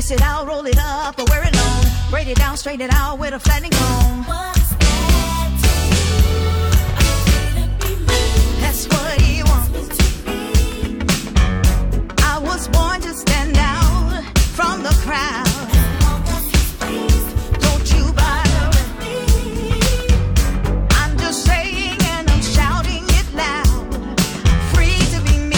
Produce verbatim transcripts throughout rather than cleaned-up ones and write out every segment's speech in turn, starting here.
twist it out, roll it up, or wear it long. Braid it down, straighten it out with a flattening comb. What's that to you? I couldn't be me. That's what he wants. I was born to stand out from the crowd. Don't you bother with me. I'm just saying and I'm shouting it loud. Free to be me.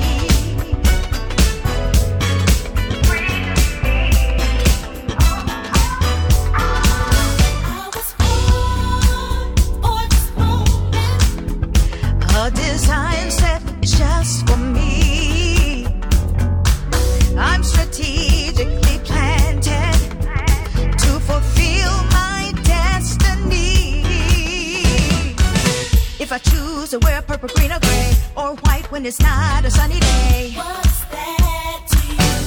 A design set just for me. I'm strategically planted to fulfill my destiny. If I choose to wear purple, green, or gray, or white when it's not a sunny day, what's that to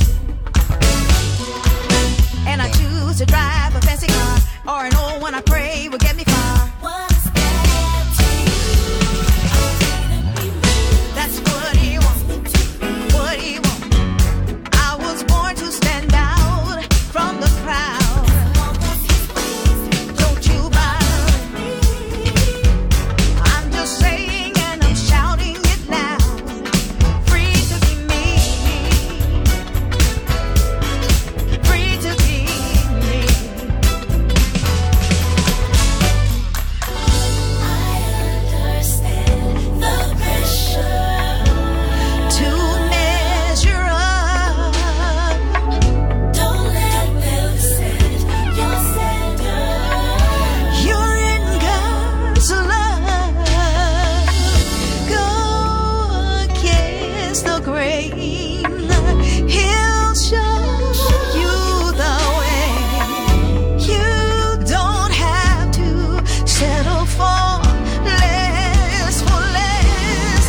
you? And I choose to drive a fancy car, or an old one I pray will get me far. What's that to you? That's what he wants, what he wants. I was born to stand out from the crowd. Don't you bother me. I'm just saying and I'm shouting it loud. Free to be me. Free to be me. I understand the pressure to measure up. Don't let them set your standard. You're in God's love. Go against the grain. He'll show you the way. You don't have to settle for less, for less.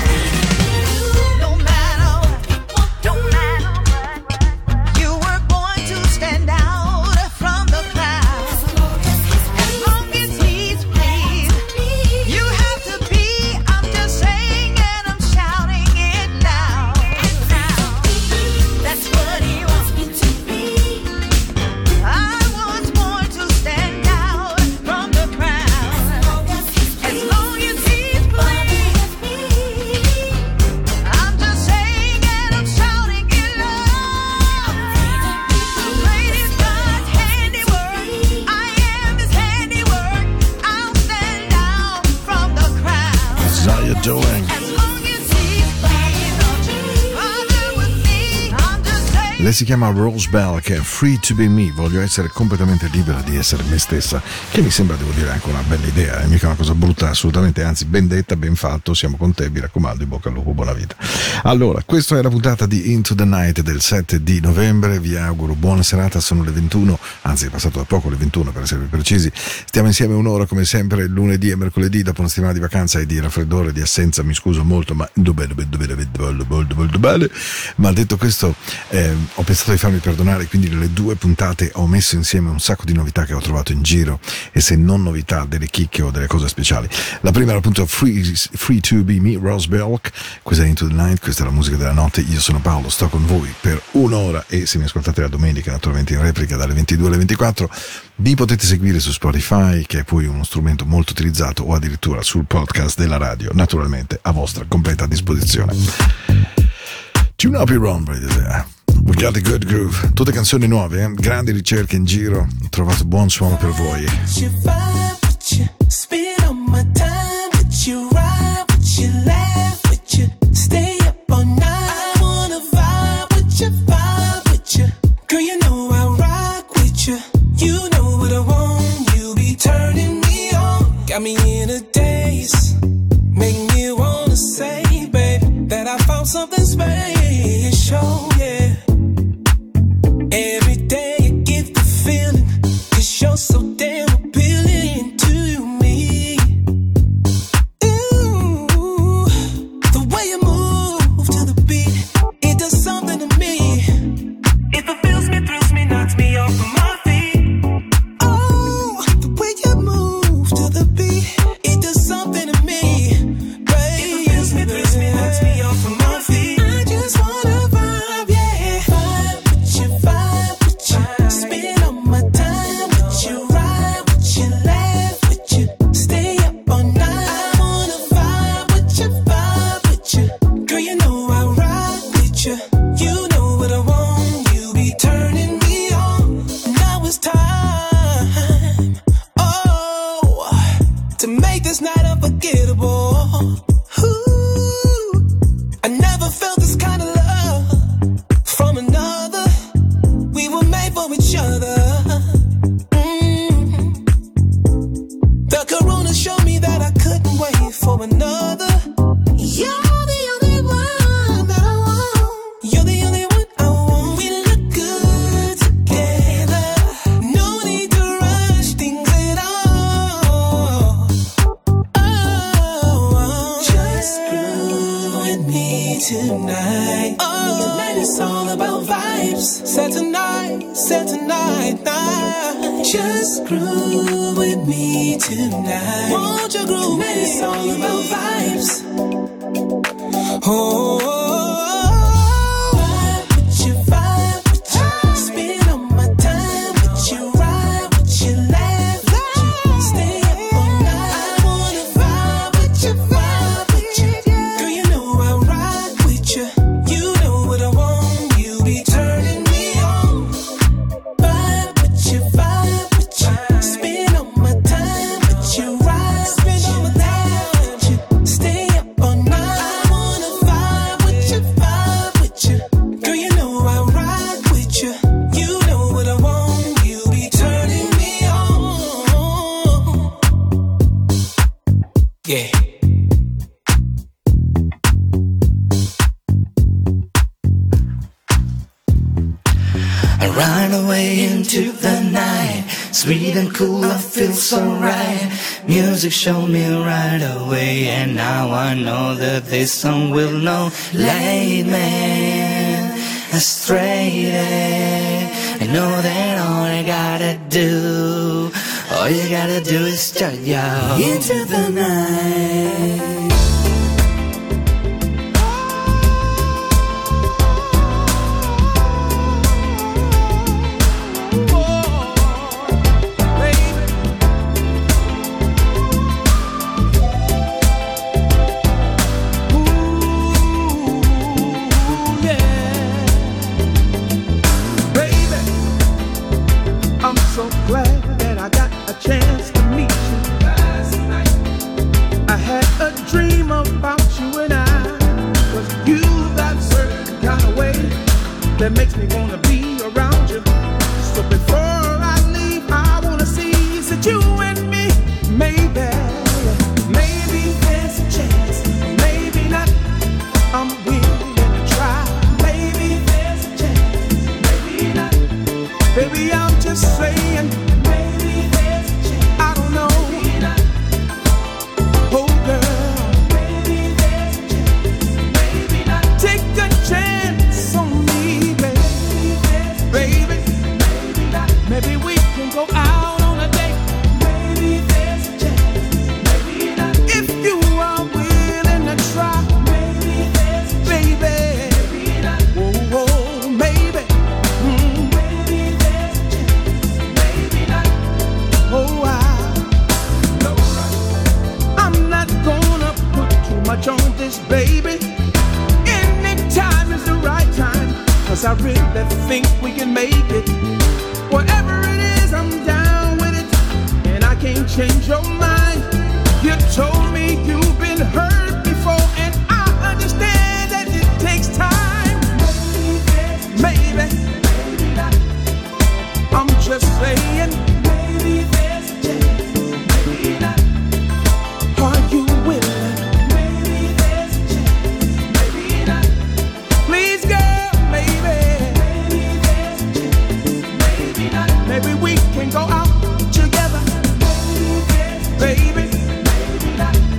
No matter what, no matter what, you were born to stand out from the crowd. As long as he's pleased, you have to be. I'm just saying and I'm shouting it loud. That's what he wants me to be. I was born to stand out from the crowd. As long as he's pleased, I'm just saying and I'm shouting it loud. Great is God's handiwork. I am his handiwork. I'll stand out from the crowd. How you doing? As long as he's pleased, don't you bother with me. I'm just saying. Lei si chiama Rose Bell, che è Free to be me, voglio essere completamente libera di essere me stessa, che mi sembra, devo dire, anche una bella idea, è mica una cosa brutta, assolutamente, anzi ben detta, ben fatto, siamo con te, mi raccomando, in bocca al lupo, buona vita. Allora, questa è la puntata di Into the Night del sette di novembre, vi auguro buona serata, sono le ventuno, anzi è passato da poco le ventuno per essere precisi, stiamo insieme un'ora come sempre lunedì e mercoledì dopo una settimana di vacanza e di raffreddore, di assenza, mi scuso molto, ma dove dove dove dove dove dove dove ma detto questo eh, ho pensato di farmi perdonare, quindi nelle due puntate ho messo insieme un sacco di novità che ho trovato in giro, e se non novità, delle chicche o delle cose speciali. La prima era appunto Free, Free to be me, Rose Belk, questa è Into the Night, questa è la musica della notte, io sono Paolo, sto con voi per un'ora, e se mi ascoltate la domenica naturalmente in replica dalle ventidue alle ventiquattro, vi potete seguire su Spotify, che è poi uno strumento molto utilizzato, o addirittura sul podcast della radio, naturalmente a vostra completa disposizione. Tune up your own, brother. We got a good groove. Tutte canzoni nuove, eh? Grandi ricerche in giro, ho trovato buon suono per voi. Got me in a daze, make me wanna say, babe, that I found something special, yeah. Every day you give the feeling, 'cause you're so damn appealing to me. Ooh, the way you move to the beat, it does something to me. It fulfills me, thrills me, knocks me off of my feet. Oh, the way you move to the beat, it does something to me, baby. It fulfills me, thrills me, knocks me off of my feet. I just wanna vibe. for each other. Mm. The corona showed me that I couldn't wait for another. You're the only one that I want. You're the only one I want. We look good together. No need to rush things at all. Oh, just groove with me tonight. Oh, it's all about vibes. Set tonight, set tonight, night. Just groove with me tonight. Won't you groove? Tonight it's all about vibes. Oh, vibe with you, vibe with you. Spend all my time with you, ride with you, laugh with you, stay up all night. I wanna vibe with you, vibe with you. Girl, you know I ride with you. You know what I want. You be turning me on. Vibe with you, vibe with you. Spend all my time with you, ride with you, laugh with you, stay up all night. I wanna vibe with you, vibe with you. Girl, you know I ride with you. You know what I want. You be turning me on. Yeah. I ride away into the night, sweet and cool, I feel so right. Music showed me right away, and now I know that this song will know. Lead me astray. I know that all I gotta do, all you gotta do is start yo into the night. So glad that I got a chance to meet you last night. I had a dream about you and I, 'cause you got a certain kind of way that makes me wanna be around you. So before I leave, I wanna see that you and me, maybe, maybe there's a chance, maybe not. I'm willing to try. Maybe there's a chance, maybe not. Baby, I'm just saying, maybe there's a chance. I don't know. Maybe not. Oh, girl. Maybe there's a chance. Maybe not. Take a chance on me, baby. Maybe there's a baby. Chance. Maybe not. Maybe we can go out on a date. Maybe there's a chance. Maybe not. If you are willing to try. Maybe there's a chance. Baby. Maybe not. Whoa, whoa, maybe. Mm. Maybe there's a chance. Maybe not. Oh, I, no, I'm not gonna put too much on this, baby. Any time is the right time, 'cause I really think we can make it. Whatever it is, I'm down with it, and I can't change your mind. You told me you've been hurt before, and I understand that it takes time. Maybe, maybe not. I'm just saying, maybe there's a chance, maybe not. Are you willing? Maybe there's a chance, maybe not. Please, girl, maybe. Maybe there's a chance, maybe not. Maybe we can go out together. Maybe there's a chance, baby, maybe not.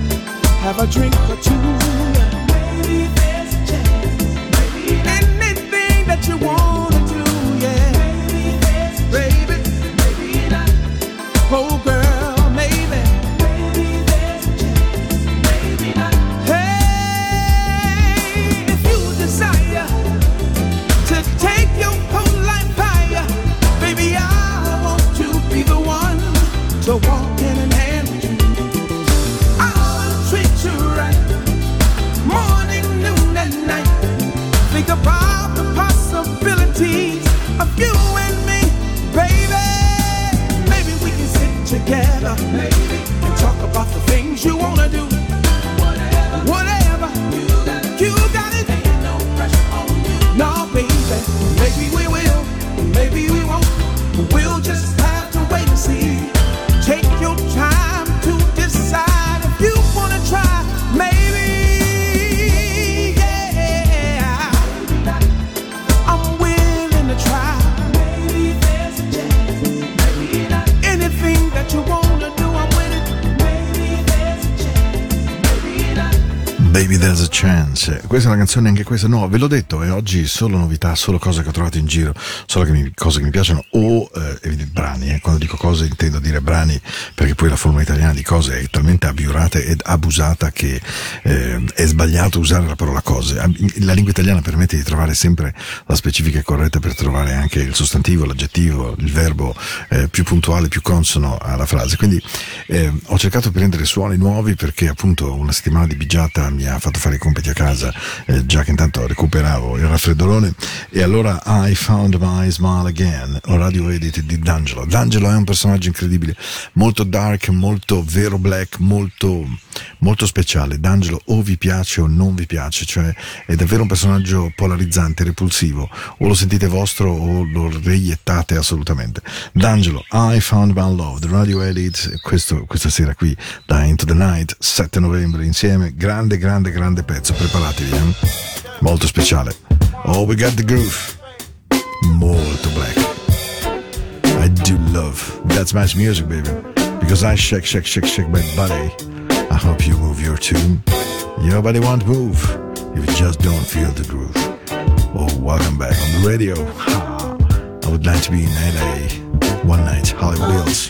Baby There's a Chance. Questa è una canzone, anche questa, no, ve l'ho detto, e oggi solo novità, solo cose che ho trovato in giro, solo che mi, cose che mi piacciono, o eh, brani, eh. Quando dico cose intendo dire brani, perché poi la forma italiana di cose è talmente abiurata ed abusata che eh, è sbagliato usare la parola cose. La lingua italiana permette di trovare sempre la specifica corretta per trovare anche il sostantivo, l'aggettivo, il verbo eh, più puntuale, più consono alla frase. Quindi eh, ho cercato di prendere suoni nuovi, perché appunto una settimana di bigiata mi ha fatto fare i compiti a casa, eh, già che intanto recuperavo il raffreddolone, e allora I Found My Smile Again, un radio edit di D'Angelo. D'Angelo è un personaggio incredibile, molto dark, molto vero black, molto, molto speciale. D'Angelo o vi piace o non vi piace, cioè è davvero un personaggio polarizzante, repulsivo, o lo sentite vostro o lo reiettate assolutamente. D'Angelo, I Found My Love, the radio edit, questo, questa sera qui da Into the Night, sette novembre insieme, grande grande grande pezzo, preparatevi, eh? Molto speciale. Oh, we got the groove, molto black. I do love that smash music, baby, because I shake shake shake shake my body. I hope you move your tune. Your body won't move if you just don't feel the groove. Oh, welcome back on the radio. Ha. I would like to be in L A one night, Hollywood Hills.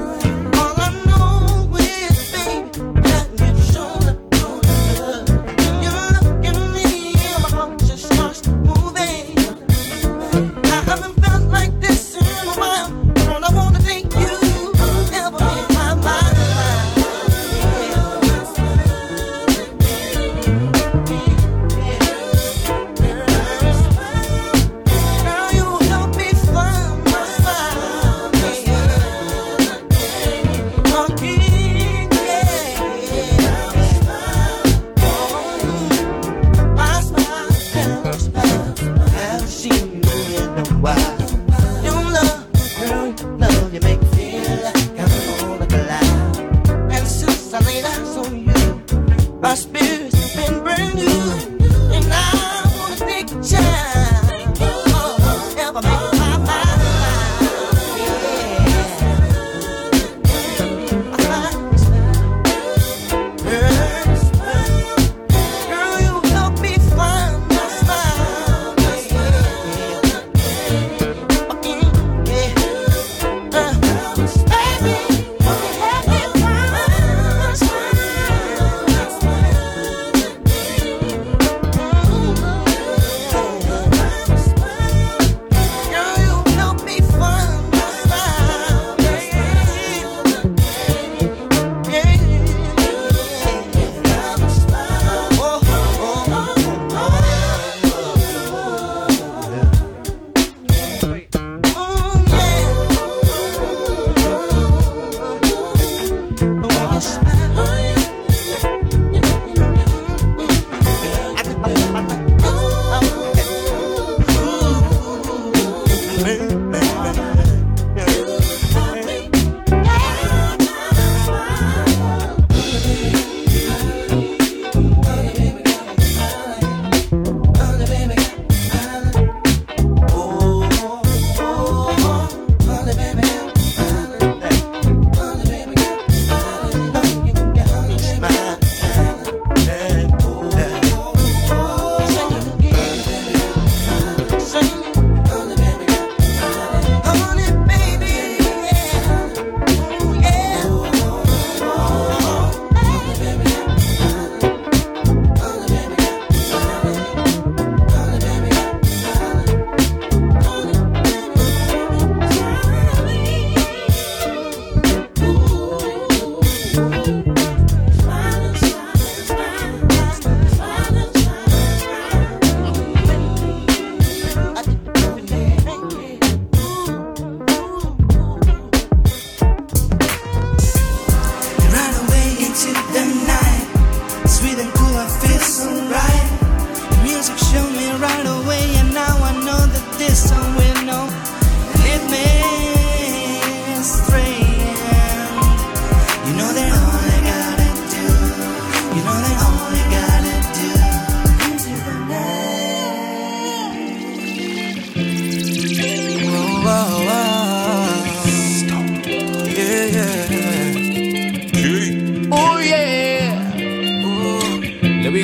All I know is, baby, that you show the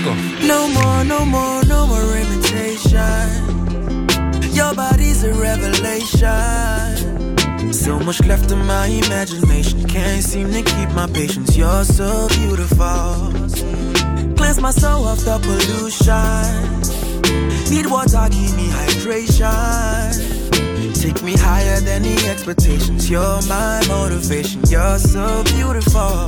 go. No more, no more, no more imitation. Your body's a revelation. So much left in my imagination. Can't seem to keep my patience. You're so beautiful. Cleanse my soul of the pollution. Need water, give me hydration. Take me higher than the expectations. You're my motivation. You're so beautiful.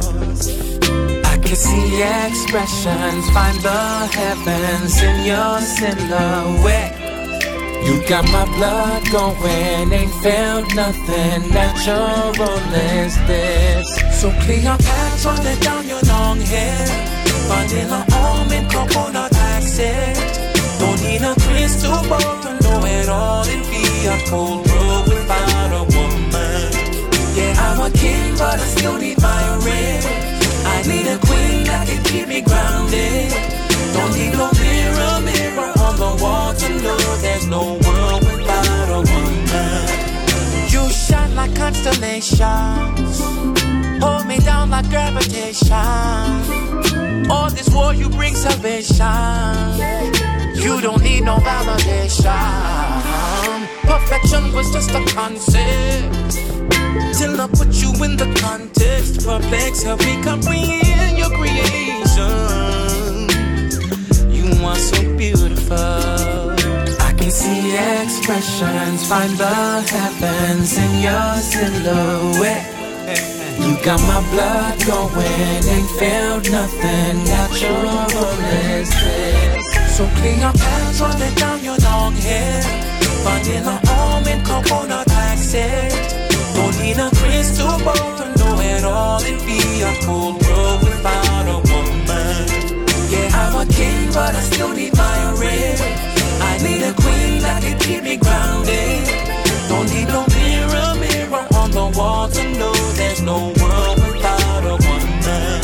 I can see expressions, find the heavens in your silhouette. You got my blood going, ain't felt nothing natural as this. So clear your path, run it down your long hair. Vanilla almond, coconut accent. Don't need a crystal ball to know it all. It'd be a cold world without a woman. Yeah, I'm a king, but I still need my ring. I need a queen that can keep me grounded. Don't need no mirror, mirror on the wall to know there's no world without a woman. You shine like constellations, hold me down like gravitation. All this war you bring salvation. You don't need no validation. Perfection was just a concept till I put you in the context. Perplex, help me comprehend your creation. You are so beautiful. I can see expressions, find the heavens in your silhouette. You got my blood going, ain't felt nothing natural as this. So clean your pants, run it down your long hair. Vanilla almond, coconut accent. Don't need a crystal ball to know it all. It'd be a cold world without a woman. Yeah, I'm a king, but I still need my ring. I need a queen that can keep me grounded. Don't need no mirror, mirror on the wall to know there's no world without a woman.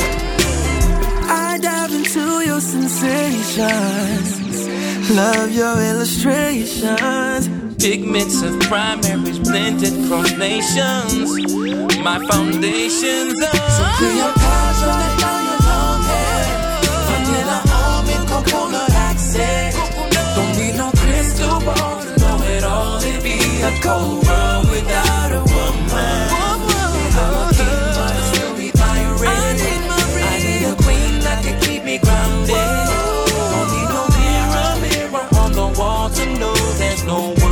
I dive into your sensations, love your illustrations. Pigments of primaries blended across nations. My foundations are so clear your path, run it down your long hair. Vanilla almond, coconut accent. Don't need no crystal ball to know it all. It'd be a cold world without a woman. I'm a king, but I still need my ring. I need a queen that can keep me grounded. Don't need no mirror, mirror on the wall to know there's no world.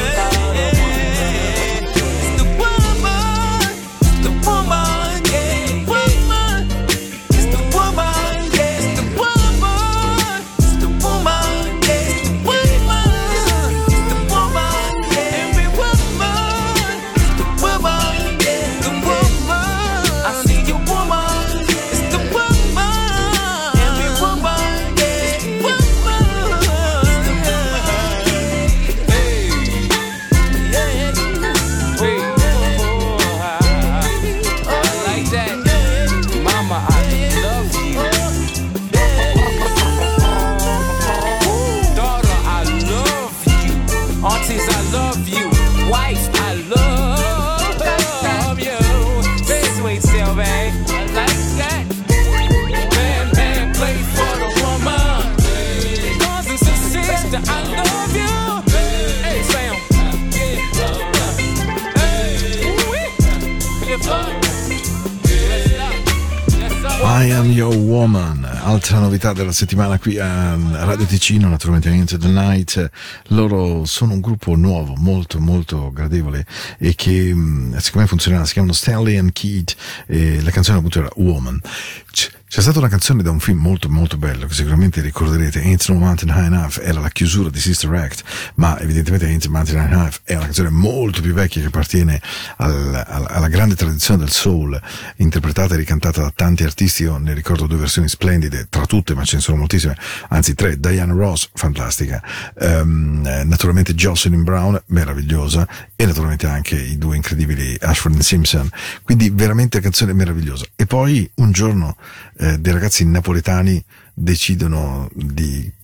I Am Your Woman, altra novità della settimana qui a Radio Ticino, naturalmente Into the Night. Loro sono un gruppo nuovo, molto molto gradevole e che secondo me funzionerà. Si chiamano Stanley and Keith e la canzone appunto era Woman. C'è stata una canzone da un film molto molto bello che sicuramente ricorderete, Ain't No Mountain High Enough, era la chiusura di Sister Act, ma evidentemente Ain't No Mountain High Enough è una canzone molto più vecchia che appartiene al, al, alla grande tradizione del soul, interpretata e ricantata da tanti artisti. Io ne ricordo due versioni splendide, tra tutte, ma ce ne sono moltissime, anzi tre. Diana Ross, fantastica, um, naturalmente Jocelyn Brown, meravigliosa, e naturalmente anche i due incredibili Ashford and Simpson, quindi veramente canzone meravigliosa. E poi un giorno eh, dei ragazzi napoletani decidono di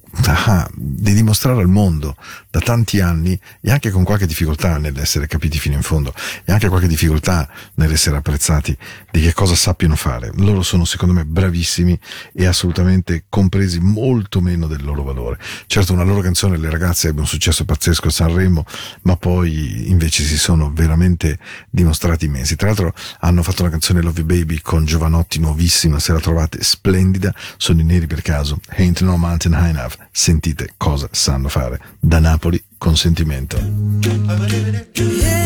ah, di dimostrare al mondo da tanti anni, e anche con qualche difficoltà nell'essere capiti fino in fondo, e anche qualche difficoltà nell'essere apprezzati, di che cosa sappiano fare. Loro sono secondo me bravissimi e assolutamente compresi molto meno del loro valore. Certo, una loro canzone, Le ragazze, ebbe un successo pazzesco a Sanremo, ma poi invece si sono veramente dimostrati immensi. Tra l'altro hanno fatto una canzone, Love You Baby, con Giovanotti, nuovissima, se la trovate, splendida. Sono i Neri per caso, Ain't No Mountain High Enough. Sentite cosa sanno fare. Da Napoli con sentimento. Yeah,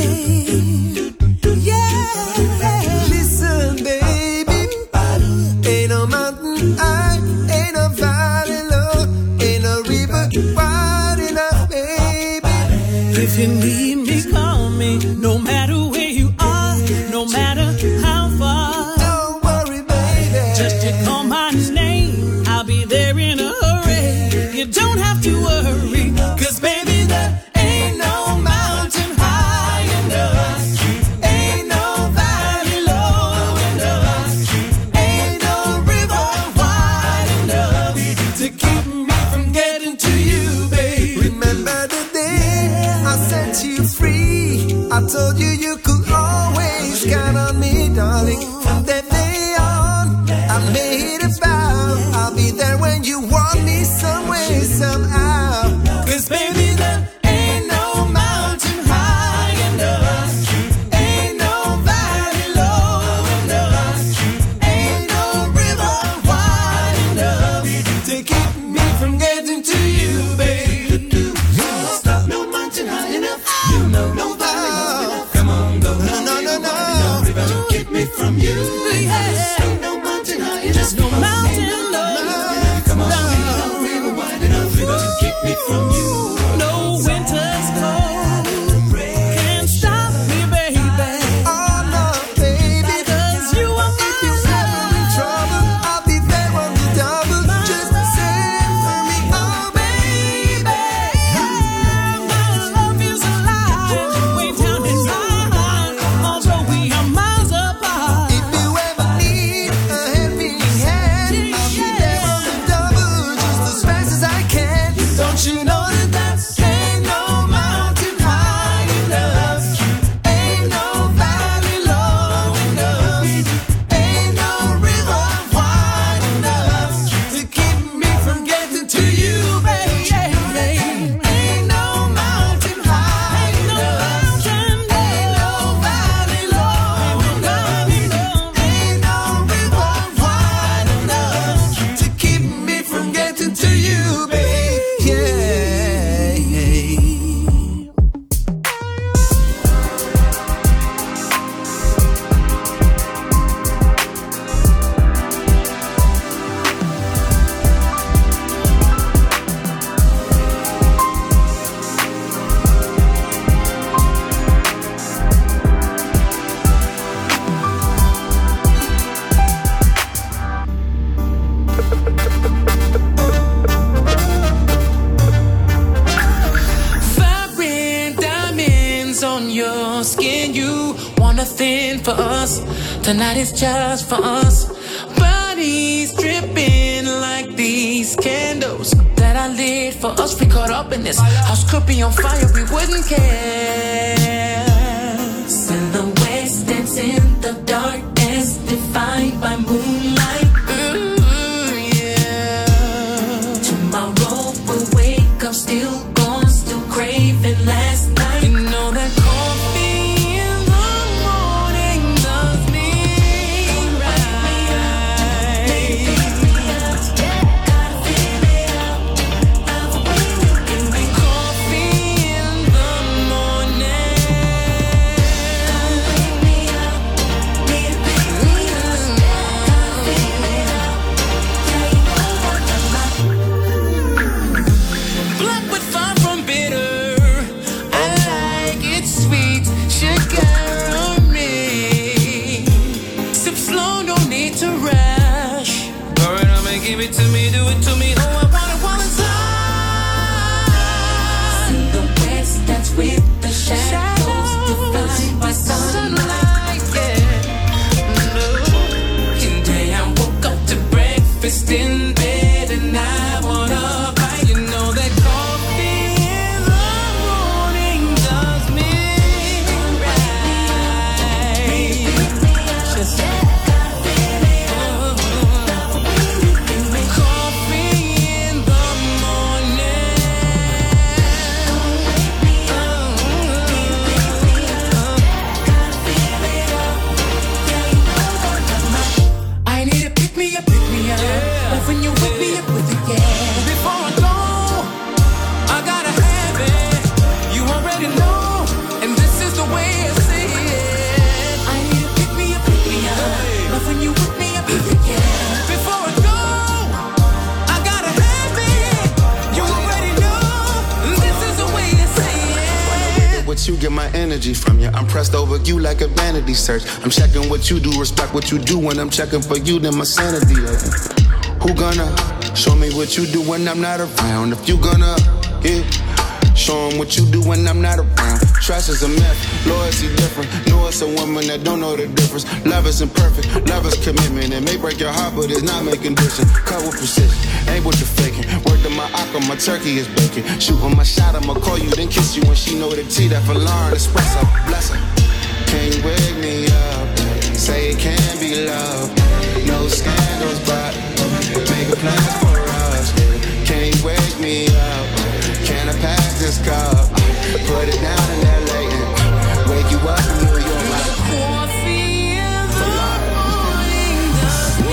yeah. Listen, baby, ain't no mountain high, ain't no valley low, ain't no river wide enough, baby. If you need me, call me, no matter where you are, no matter how far. Don't worry, baby, just you call my name, I'll be there in a hurry. You don't have to worry, 'cause baby, there ain't no mountain high enough, ain't no valley low enough, ain't no river wide enough to keep me from getting to you, baby. Remember the day I set you free, I told you you could always count on me, darling. From that day on, I made a vow, I'll be there when you want me some way, somehow. 'Cause baby, there ain't no mountain high enough, ain't no valley low enough, ain't no river wide enough to keep me from getting to you, baby. Stop, no mountain high enough, you know, no valley low enough. Come on, go, no, no, no, no, no river to keep me from you. Yeah. Ain't no mountain high enough, no mountain low enough. Come on, no river wide enough, river to keep me from you. No winter's cold can't stop me, baby. Oh no, baby, 'cause you are mine. If you're ever in trouble, I'll be there on the double. Just say for me, oh baby, my love is alive, way down inside, although we are miles apart. If you ever need a helping hand, I'll be there on the double, just as fast as I can. Don't you know that that's ain't no mountain high enough, ain't no valley low enough, ain't no river wide enough to keep me from getting to you, baby. Ain't no mountain high enough, ain't no valley low enough, ain't no river wide enough to keep me from getting to you, baby. Yeah. Fire diamonds on your skin, you want a thing for us. Tonight is just for us. Bodies dripping like these candles that I lit for us. We caught up in this house could be on fire, we wouldn't care. Silhouettes dance in the darkness, defined by moonlight. Mm, yeah. Tomorrow we'll wake up still gone, still craving last night. You know that coffee in the morning does me right. Gotta fill it up, give me coffee in the morning. Wake me up, need a big gotta fill it up, yeah, you know what I'm like. Black with far from bitter, I like it sweet, sugar on me. Sip slow, no need to rush. Pour it on me, give it to me, do it to me. Oh, I want it while it's hot. Silhouettes dance with the shadows, defined by sunlight. Yeah, no. Today I woke up to breakfast in bed and I wanna. me up, pick me up. Yeah. Love when you with me up with it, yeah. Before I go, I gotta have it. You already know, and this is the way I see it. I need to pick me up, pick me up. Love when you with me up with it, yeah. Before I go, I gotta have it. You already know, and this is the way I see it. What you get my energy from you. I'm pressed over you like a vanity search. I'm checking what you do, respect what you do. When I'm checking for you, then my sanity. Who gonna show me what you do when I'm not around? If you gonna, yeah, show 'em what you do when I'm not around. Trust is a myth, loyalty different. Know it's a woman that don't know the difference. Love is imperfect, love is commitment. It may break your heart, but it's not making distance. Cut with precision, ain't with the faking. Work to my aqua, my turkey is baking. Shooting my shot, I'ma call you, then kiss you when she know the tea that for Lauren espresso. Bless her. Can you wake me up? Say it can be love. No scandals, but make a plan for us. Can you wake me up? Can I pass this cup? Put it down in L A and wake you up in New York. Like coffee in the morning, the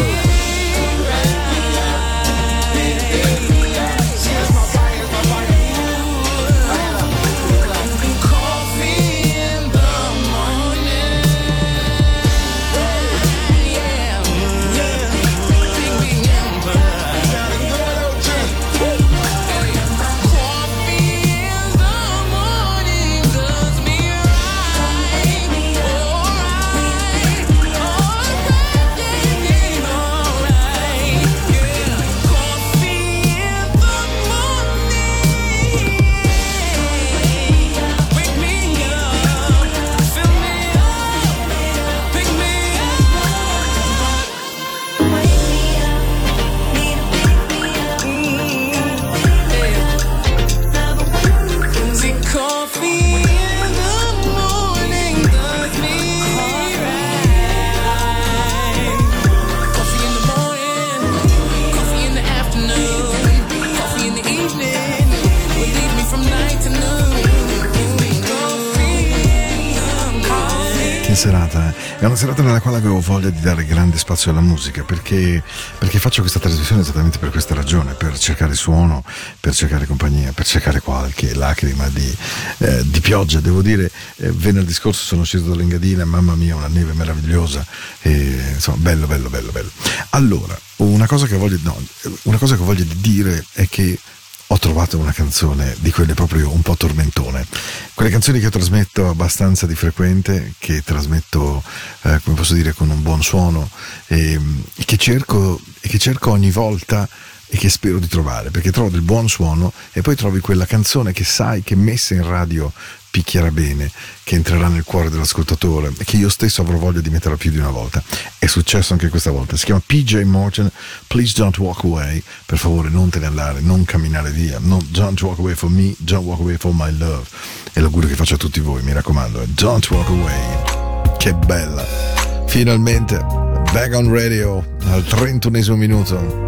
serata, è una serata nella quale avevo voglia di dare grande spazio alla musica, perché, perché faccio questa trasmissione esattamente per questa ragione, per cercare suono, per cercare compagnia, per cercare qualche lacrima di, eh, di pioggia. Devo dire, eh, venerdì scorso sono sceso dall'Engadina, mamma mia, una neve meravigliosa, e, insomma, bello, bello, bello, bello. Allora, una cosa che voglio, no, una cosa che voglio dire è che ho trovato una canzone di quelle proprio un po' tormentone, quelle canzoni che trasmetto abbastanza di frequente, che trasmetto, eh, come posso dire, con un buon suono, e, e che cerco e che cerco ogni volta e che spero di trovare, perché trovo del buon suono e poi trovi quella canzone che sai che messa in radio picchierà bene, che entrerà nel cuore dell'ascoltatore e che io stesso avrò voglia di metterla più di una volta. È successo anche questa volta. Si chiama P J Morton, Please Don't Walk Away. Per favore non te ne andare, non camminare via, no, don't walk away for me, don't walk away for my love. È l'augurio che faccio a tutti voi, mi raccomando, don't walk away. Che bella, finalmente back on radio al trentunesimo minuto.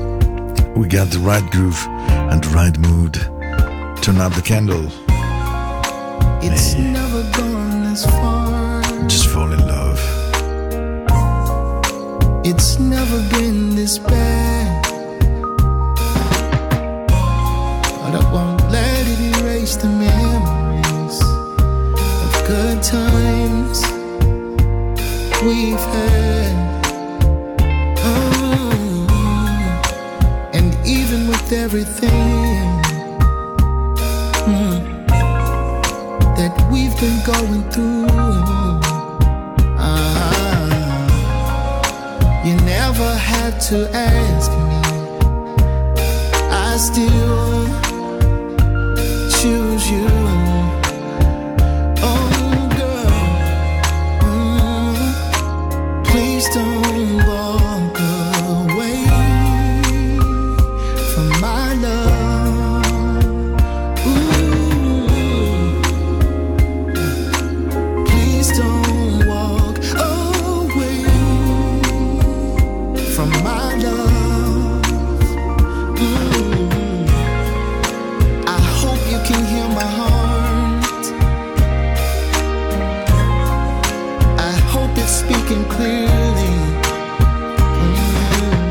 We got the right groove and the right mood. Turn up the candle. It's hey. Never gone this far. Just fall in love. It's never been this bad. But I won't let it erase the memories of good times we've had. Oh, and even with everything mm, that we've been going through, uh, you never had to ask me. I still choose you. Oh girl, mm, please don't walk away from my love. Ooh, please don't walk away from my love. Mm, I hope you can hear my heart. I hope it's speaking clearly. Mm,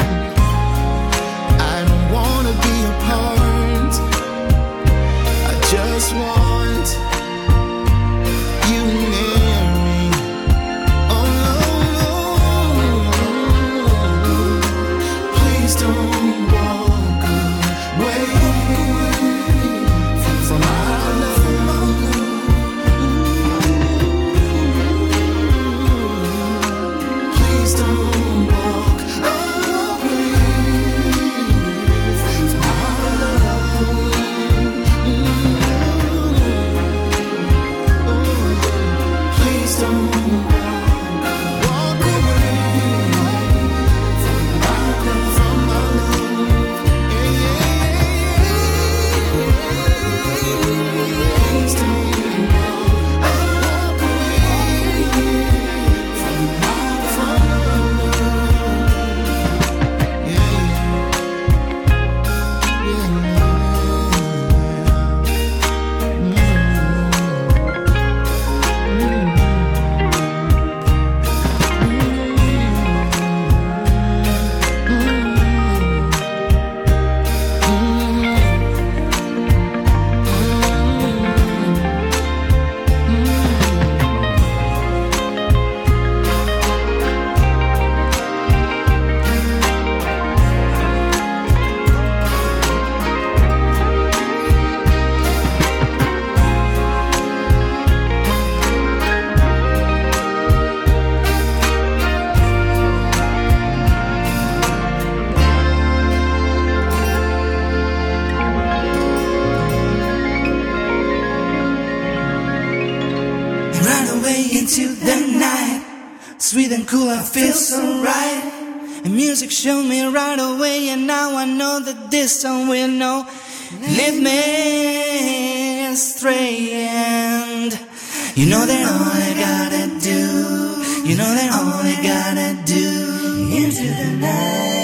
sweet and cool, I feel so right. And music showed me right away, and now I know that this song will know lead me astray. And you know that all I gotta do, you know that all I gotta do into the night.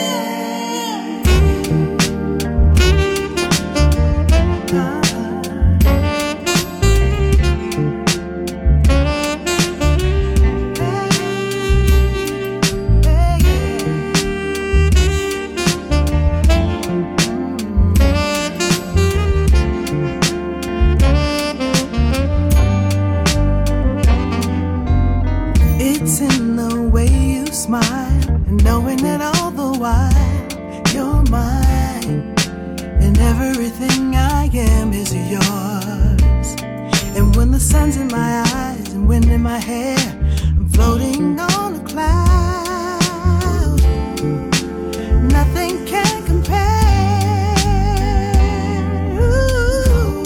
Smile and knowing that all the while you're mine and everything I am is yours. And when the sun's in my eyes and wind in my hair, I'm floating on a cloud. Nothing can compare. Ooh.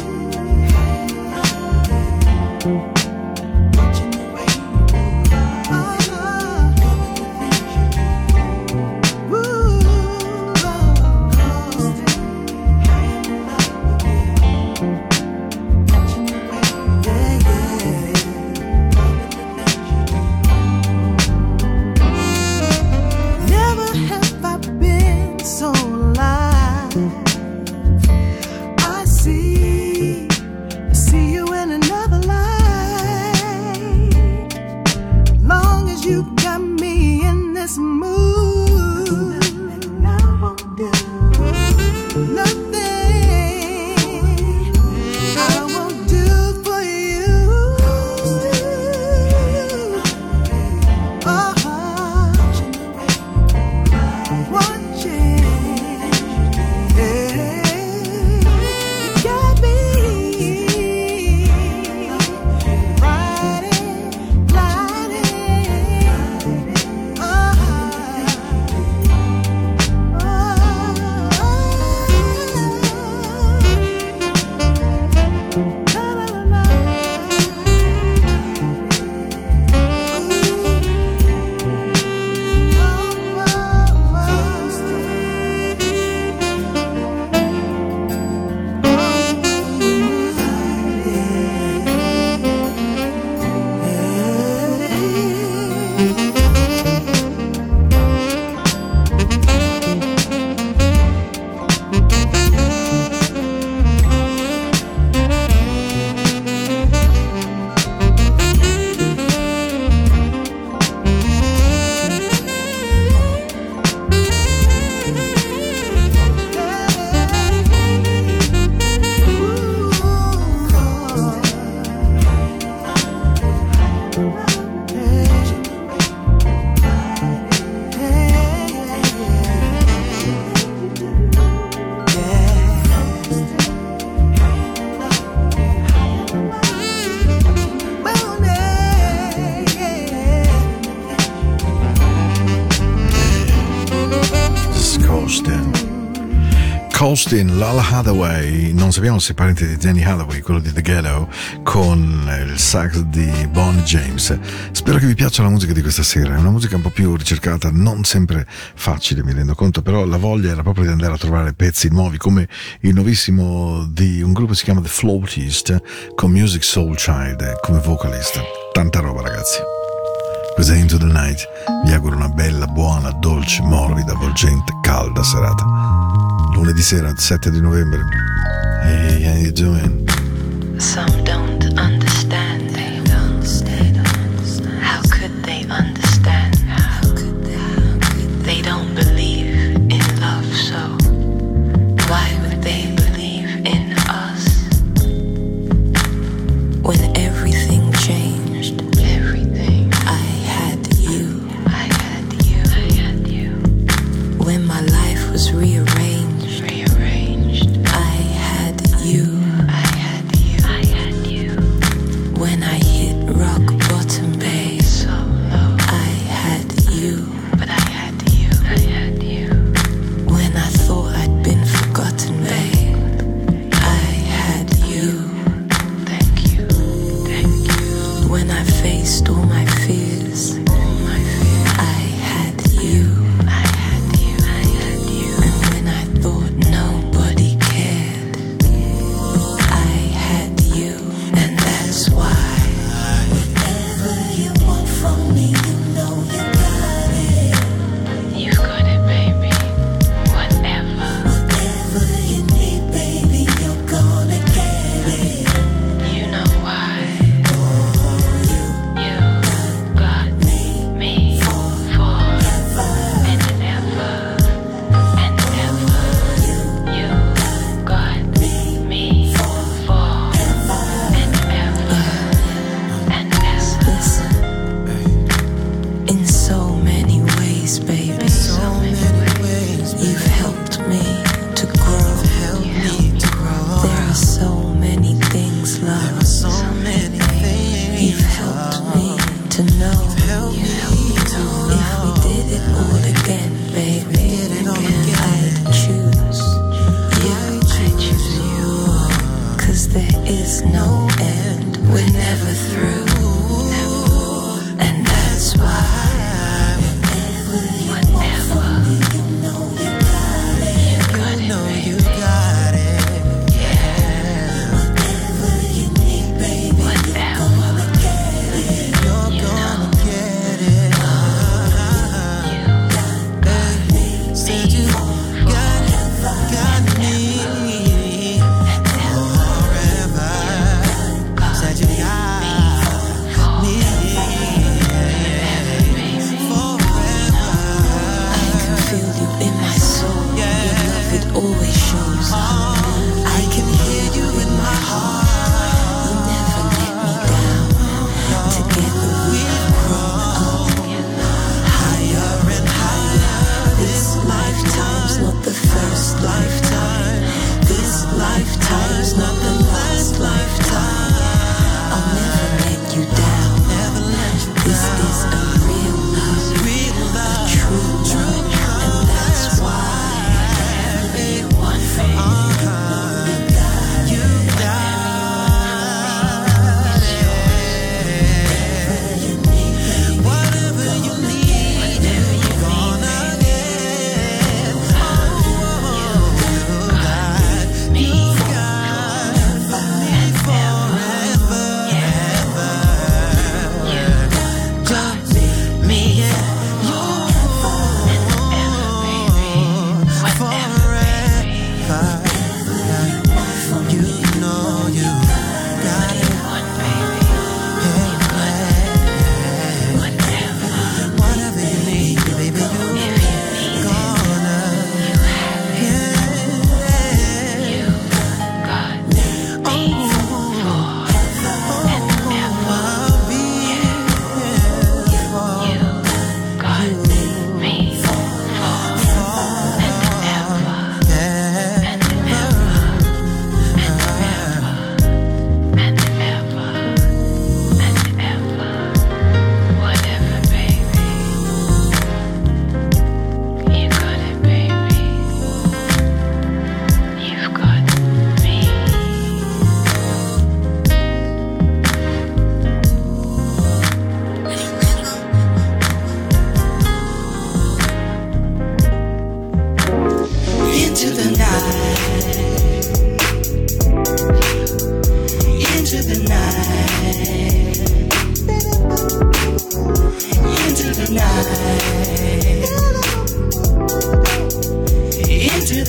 Austin, Lala Hathaway, non sappiamo se è parente di Danny Hathaway, quello di The Ghetto, con il sax di Bonnie James. Spero che vi piaccia la musica di questa sera, è una musica un po' più ricercata, non sempre facile, mi rendo conto, però la voglia era proprio di andare a trovare pezzi nuovi, come il nuovissimo di un gruppo che si chiama The Flautist, con Musiq Soulchild come vocalist. Tanta roba, ragazzi. Questa è Into the Night, vi auguro una bella, buona, dolce, morbida, avvolgente, calda serata. Lunedì sera, sette di novembre. Hey, how you doing? Some don't understand. They don't, they don't understand. How could they understand? How could they? How could they? They don't believe in love, so why would they believe in us? When everything changed, everything. I had you. I had you. I had you. When my life was rearranged. When I hit rock bottom, babe, so low. I had you, but I had you, I had you. When I thought I'd been forgotten, babe, I had you. Thank you, thank you. When I faced all my fears,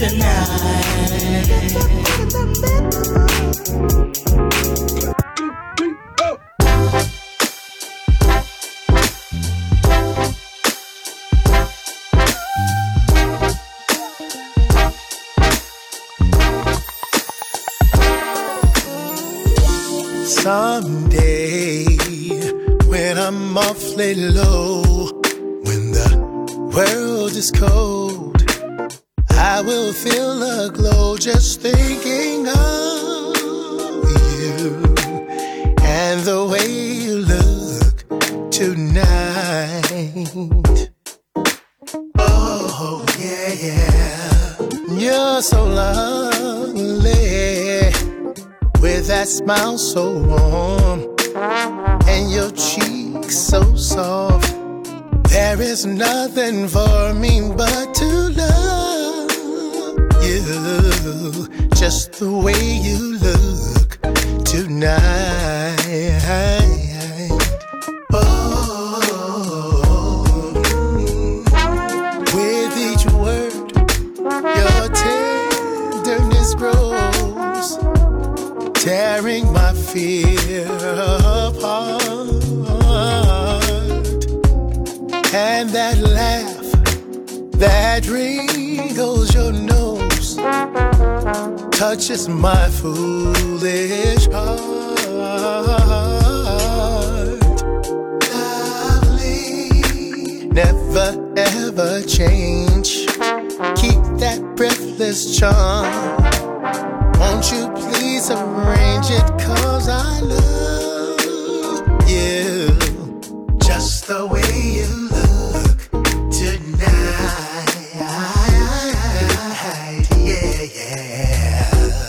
Someday, when I'm awfully low, when the world is cold, I will feel a glow just thinking of you and the way you look tonight. Oh, yeah, yeah. You're so lovely, with that smile so warm and your cheeks so soft. There is nothing for me but to love you, just the way you look tonight. Oh, with each word your tenderness grows, tearing my fear apart. And that laugh that wrinkles your nose touches my foolish heart. Lovely, never ever change. Keep that breathless charm. Won't you please arrange it, 'cause I love you just the way you look tonight. Yeah, yeah.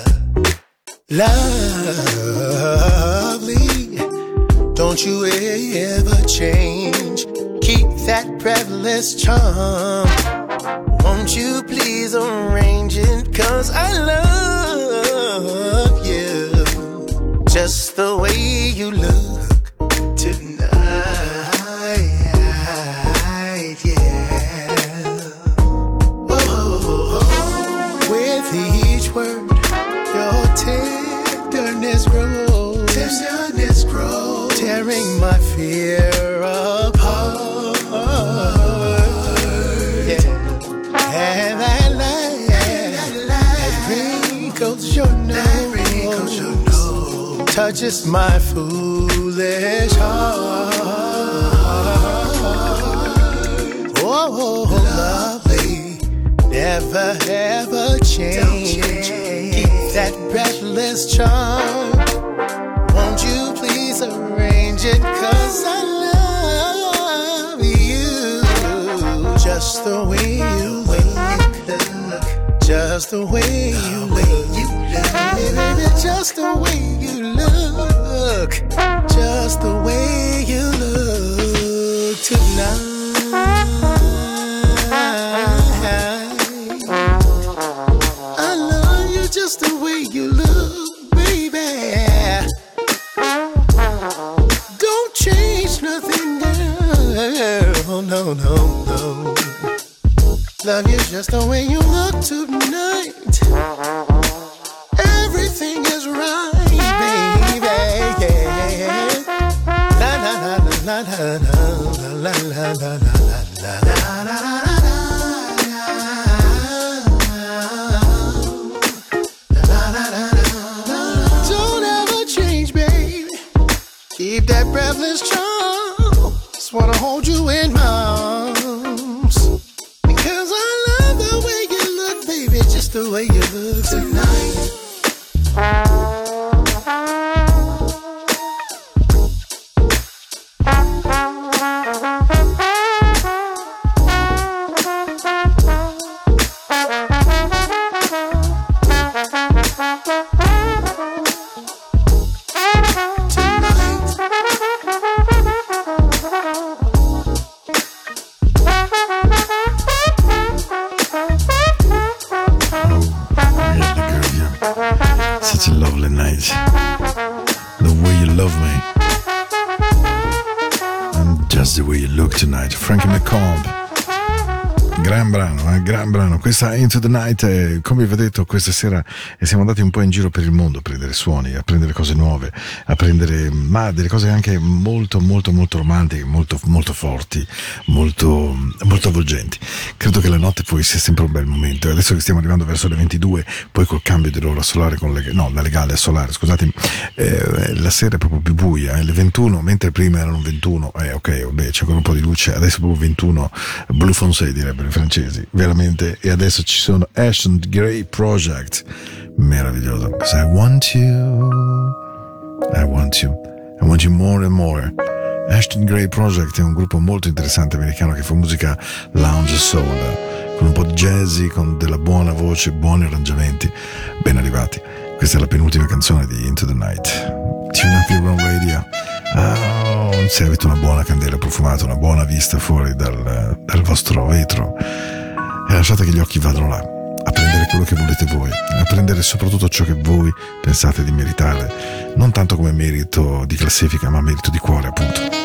Lovely, don't you ever change. Keep that breathless charm. Won't you please arrange it, 'cause I love you just the way you look tonight. Yeah. Oh, with each word your tenderness grows, tenderness grows, tearing my fear apart. Yeah. And that light, that light wrinkles your nose, your nose, touches my foolish heart. Oh, lovely, never ever change. Keep that breathless charm. Won't you please arrange it, 'cause I love you just the way you look, just the way you look, baby, just the way you look, just the way you look tonight. I love you just the way you look, baby. Don't change nothing, girl. No, no, no. Love you just the way you look tonight. Everything is right, baby. Yeah. La la la la la la la la la la la la la. Don't ever change, baby. Keep that breathless charm. Just wanna hold you in my arms, because I love the way you look, baby, just the way you look tonight. Such a lovely night. The way you love me, and just the way you look tonight. Frankie McComb, Gran brano, eh, gran brano. Questa Into the Night, eh, come vi ho detto, questa sera eh, siamo andati un po' in giro per il mondo a prendere suoni, a prendere cose nuove, a prendere ma delle cose anche molto molto molto romantiche, molto molto forti, molto molto avvolgenti. Credo che la notte poi sia sempre un bel momento. Adesso che stiamo arrivando verso le ventidue, poi col cambio dell'ora solare con le, no, da legale a solare, scusatemi, eh, la sera è proprio più buia, eh, le ventuno, mentre prima erano ventuno, eh ok, vabbè, c'è ancora un po' di luce, adesso è proprio ventuno, Blue Foncé direbbero i francesi, veramente. E adesso ci sono Ashton Gray Project, meraviglioso. Because I want you, I want you, I want you more and more. Ashton Gray Project è un gruppo molto interessante americano che fa musica lounge soul, con un po' di jazzy, con della buona voce, buoni arrangiamenti, ben arrivati. Questa è la penultima canzone di Into the Night. Tune up your own radio. Oh, se avete una buona candela profumata, una buona vista fuori dal, dal vostro vetro, e lasciate che gli occhi vadano là a prendere quello che volete voi, a prendere soprattutto ciò che voi pensate di meritare, non tanto come merito di classifica, ma merito di cuore, appunto.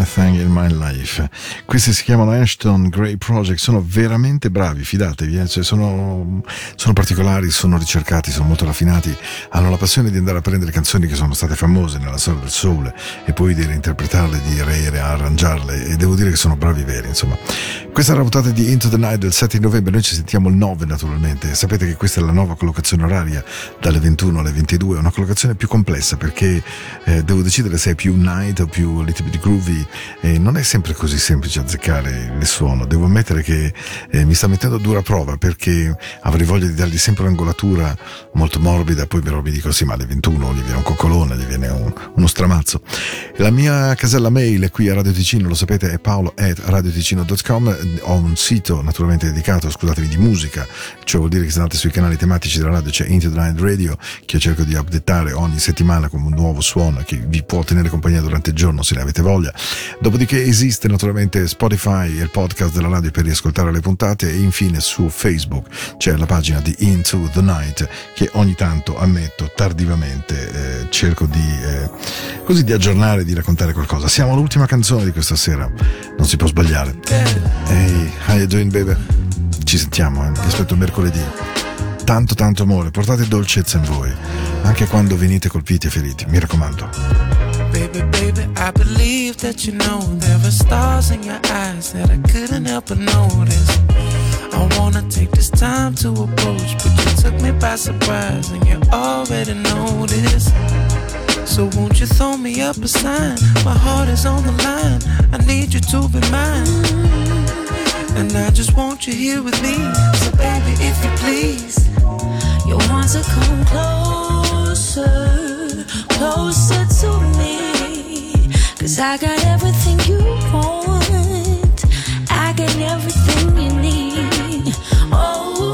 Thing in My Life. Questi si chiamano Ashton Gray Project, sono veramente bravi, fidatevi, eh? Cioè sono, sono particolari, sono ricercati, sono molto raffinati, hanno la passione di andare a prendere canzoni che sono state famose nella storia del soul e poi di reinterpretarle, di rearrangiarle, e devo dire che sono bravi veri, insomma. Questa è la puntata di Into the Night del sette novembre, noi ci sentiamo il nove naturalmente. Sapete che questa è la nuova collocazione oraria dalle ventuno alle ventidue, è una collocazione più complessa perché eh, devo decidere se è più night o più little bit groovy, e non è sempre così semplice azzeccare il suono. Devo ammettere che eh, mi sta mettendo a dura prova perché avrei voglia di dargli sempre un'angolatura molto morbida, poi però mi dico sì, ma alle ventuno gli viene un coccolone, gli viene un, uno stramazzo. La mia casella mail è qui a Radio Ticino, lo sapete, è paolo at radioticino dot com. Ho un sito naturalmente dedicato, scusatemi, di musica, cioè vuol dire che se andate sui canali tematici della radio c'è Into the Night Radio, che io cerco di updatare ogni settimana con un nuovo suono che vi può tenere compagnia durante il giorno se ne avete voglia. Dopodiché esiste naturalmente Spotify e il podcast della radio per riascoltare le puntate, e infine su Facebook c'è la pagina di Into the Night che ogni tanto, ammetto, tardivamente eh, cerco di eh, così di aggiornare, di raccontare qualcosa. Siamo all'ultima canzone di questa sera, non si può sbagliare. Hey, how you doing, baby? Ci sentiamo, eh? Vi aspetto mercoledì. Tanto tanto amore, portate dolcezza in voi, anche quando venite colpiti e feriti, mi raccomando. Baby, baby, I believe that you know there are stars in your eyes that I couldn't help but notice. I wanna take this time to approach, but you took me by surprise and you already know this. So won't you throw me up a sign? My heart is on the line, I need you to be mine. And I just want you here with me. So baby, if you please, you want to come closer, closer to me. Cause I got everything you want, I got everything you need. Oh,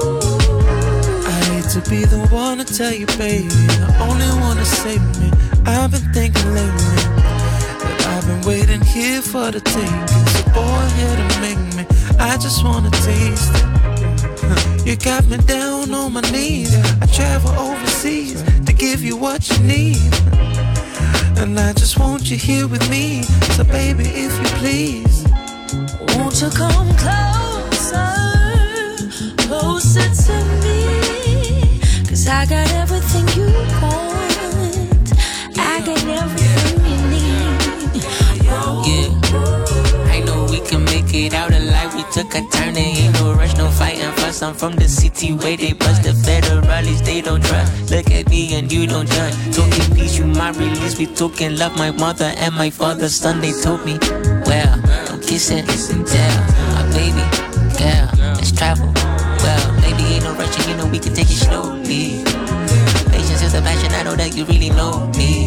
ooh. I hate to be the one to tell you, baby, the only one to save me. I've been thinking lately that I've been waiting here for the taking. So go ahead and make me, I just wanna taste it. You got me down on my knees, I travel overseas to give you what you need. And I just want you here with me. So baby, if you please, won't you come closer, closer to me. Cause I got everything you want, I got everything you need. Yeah, I know we can make it out alive. We took a turn, there ain't no rush, no fighting fuss. I'm from the city where they bust the federalists, they don't trust. Look at me and you don't judge. Talking peace, you my release. We talking love, my mother and my father's son. They told me, well, don't kiss it, yeah, my baby, girl, let's travel. Well, maybe ain't no rushing, you know we can take it slowly. Patience is a passion, I know that you really know me.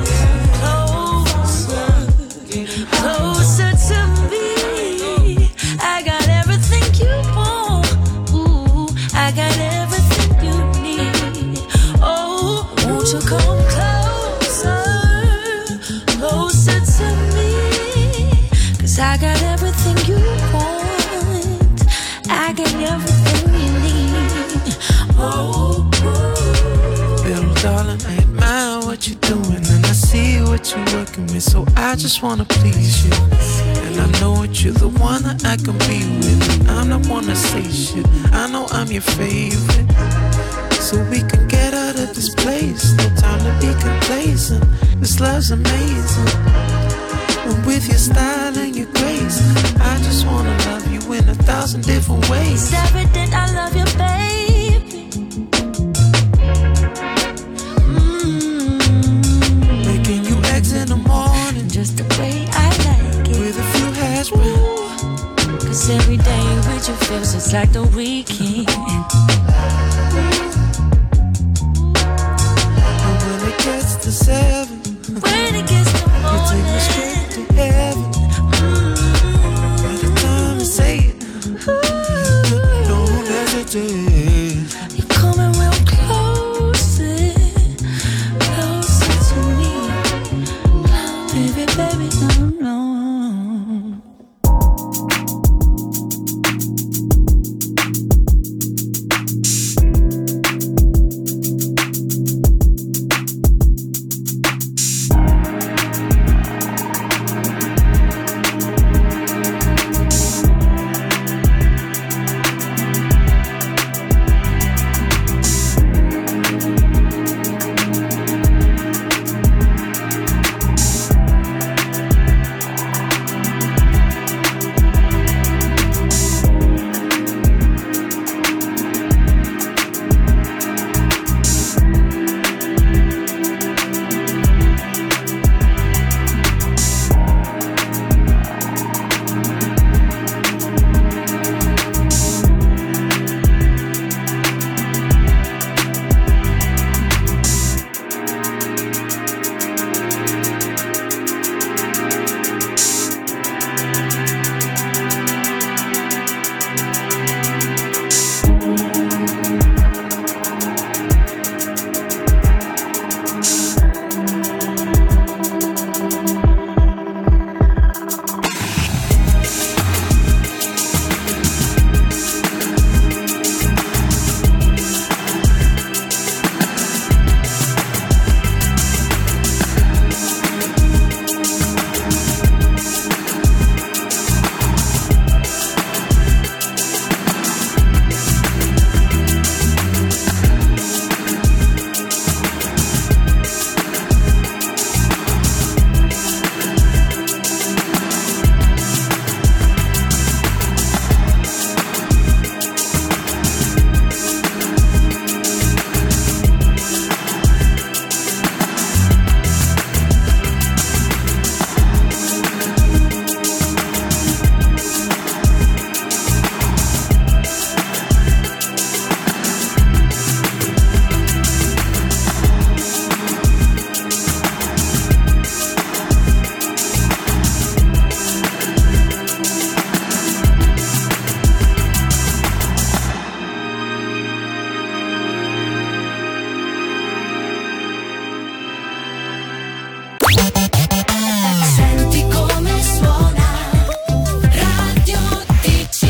Closer to me, I got everything you want. Ooh, I got everything you need. Oh, won't you come closer, closer to me? Cause I got everything you want, I got everything you need. Oh, little darling, I admire what you're doing, and I see what you're working with. So I just wanna please you, and I know that you're the one that I can be with. I'm not one to say shit, I know I'm your favorite. So we can get out of this place, no time to be complacent. This love's amazing, and with your style and your grace, I just wanna love you in a thousand different ways. It's evident I love you, baby. In the morning, just the way I like it, with a few hash browns. Cause every day with you feels just like the weekend. And when it gets to seven, when it gets to morning, you take me straight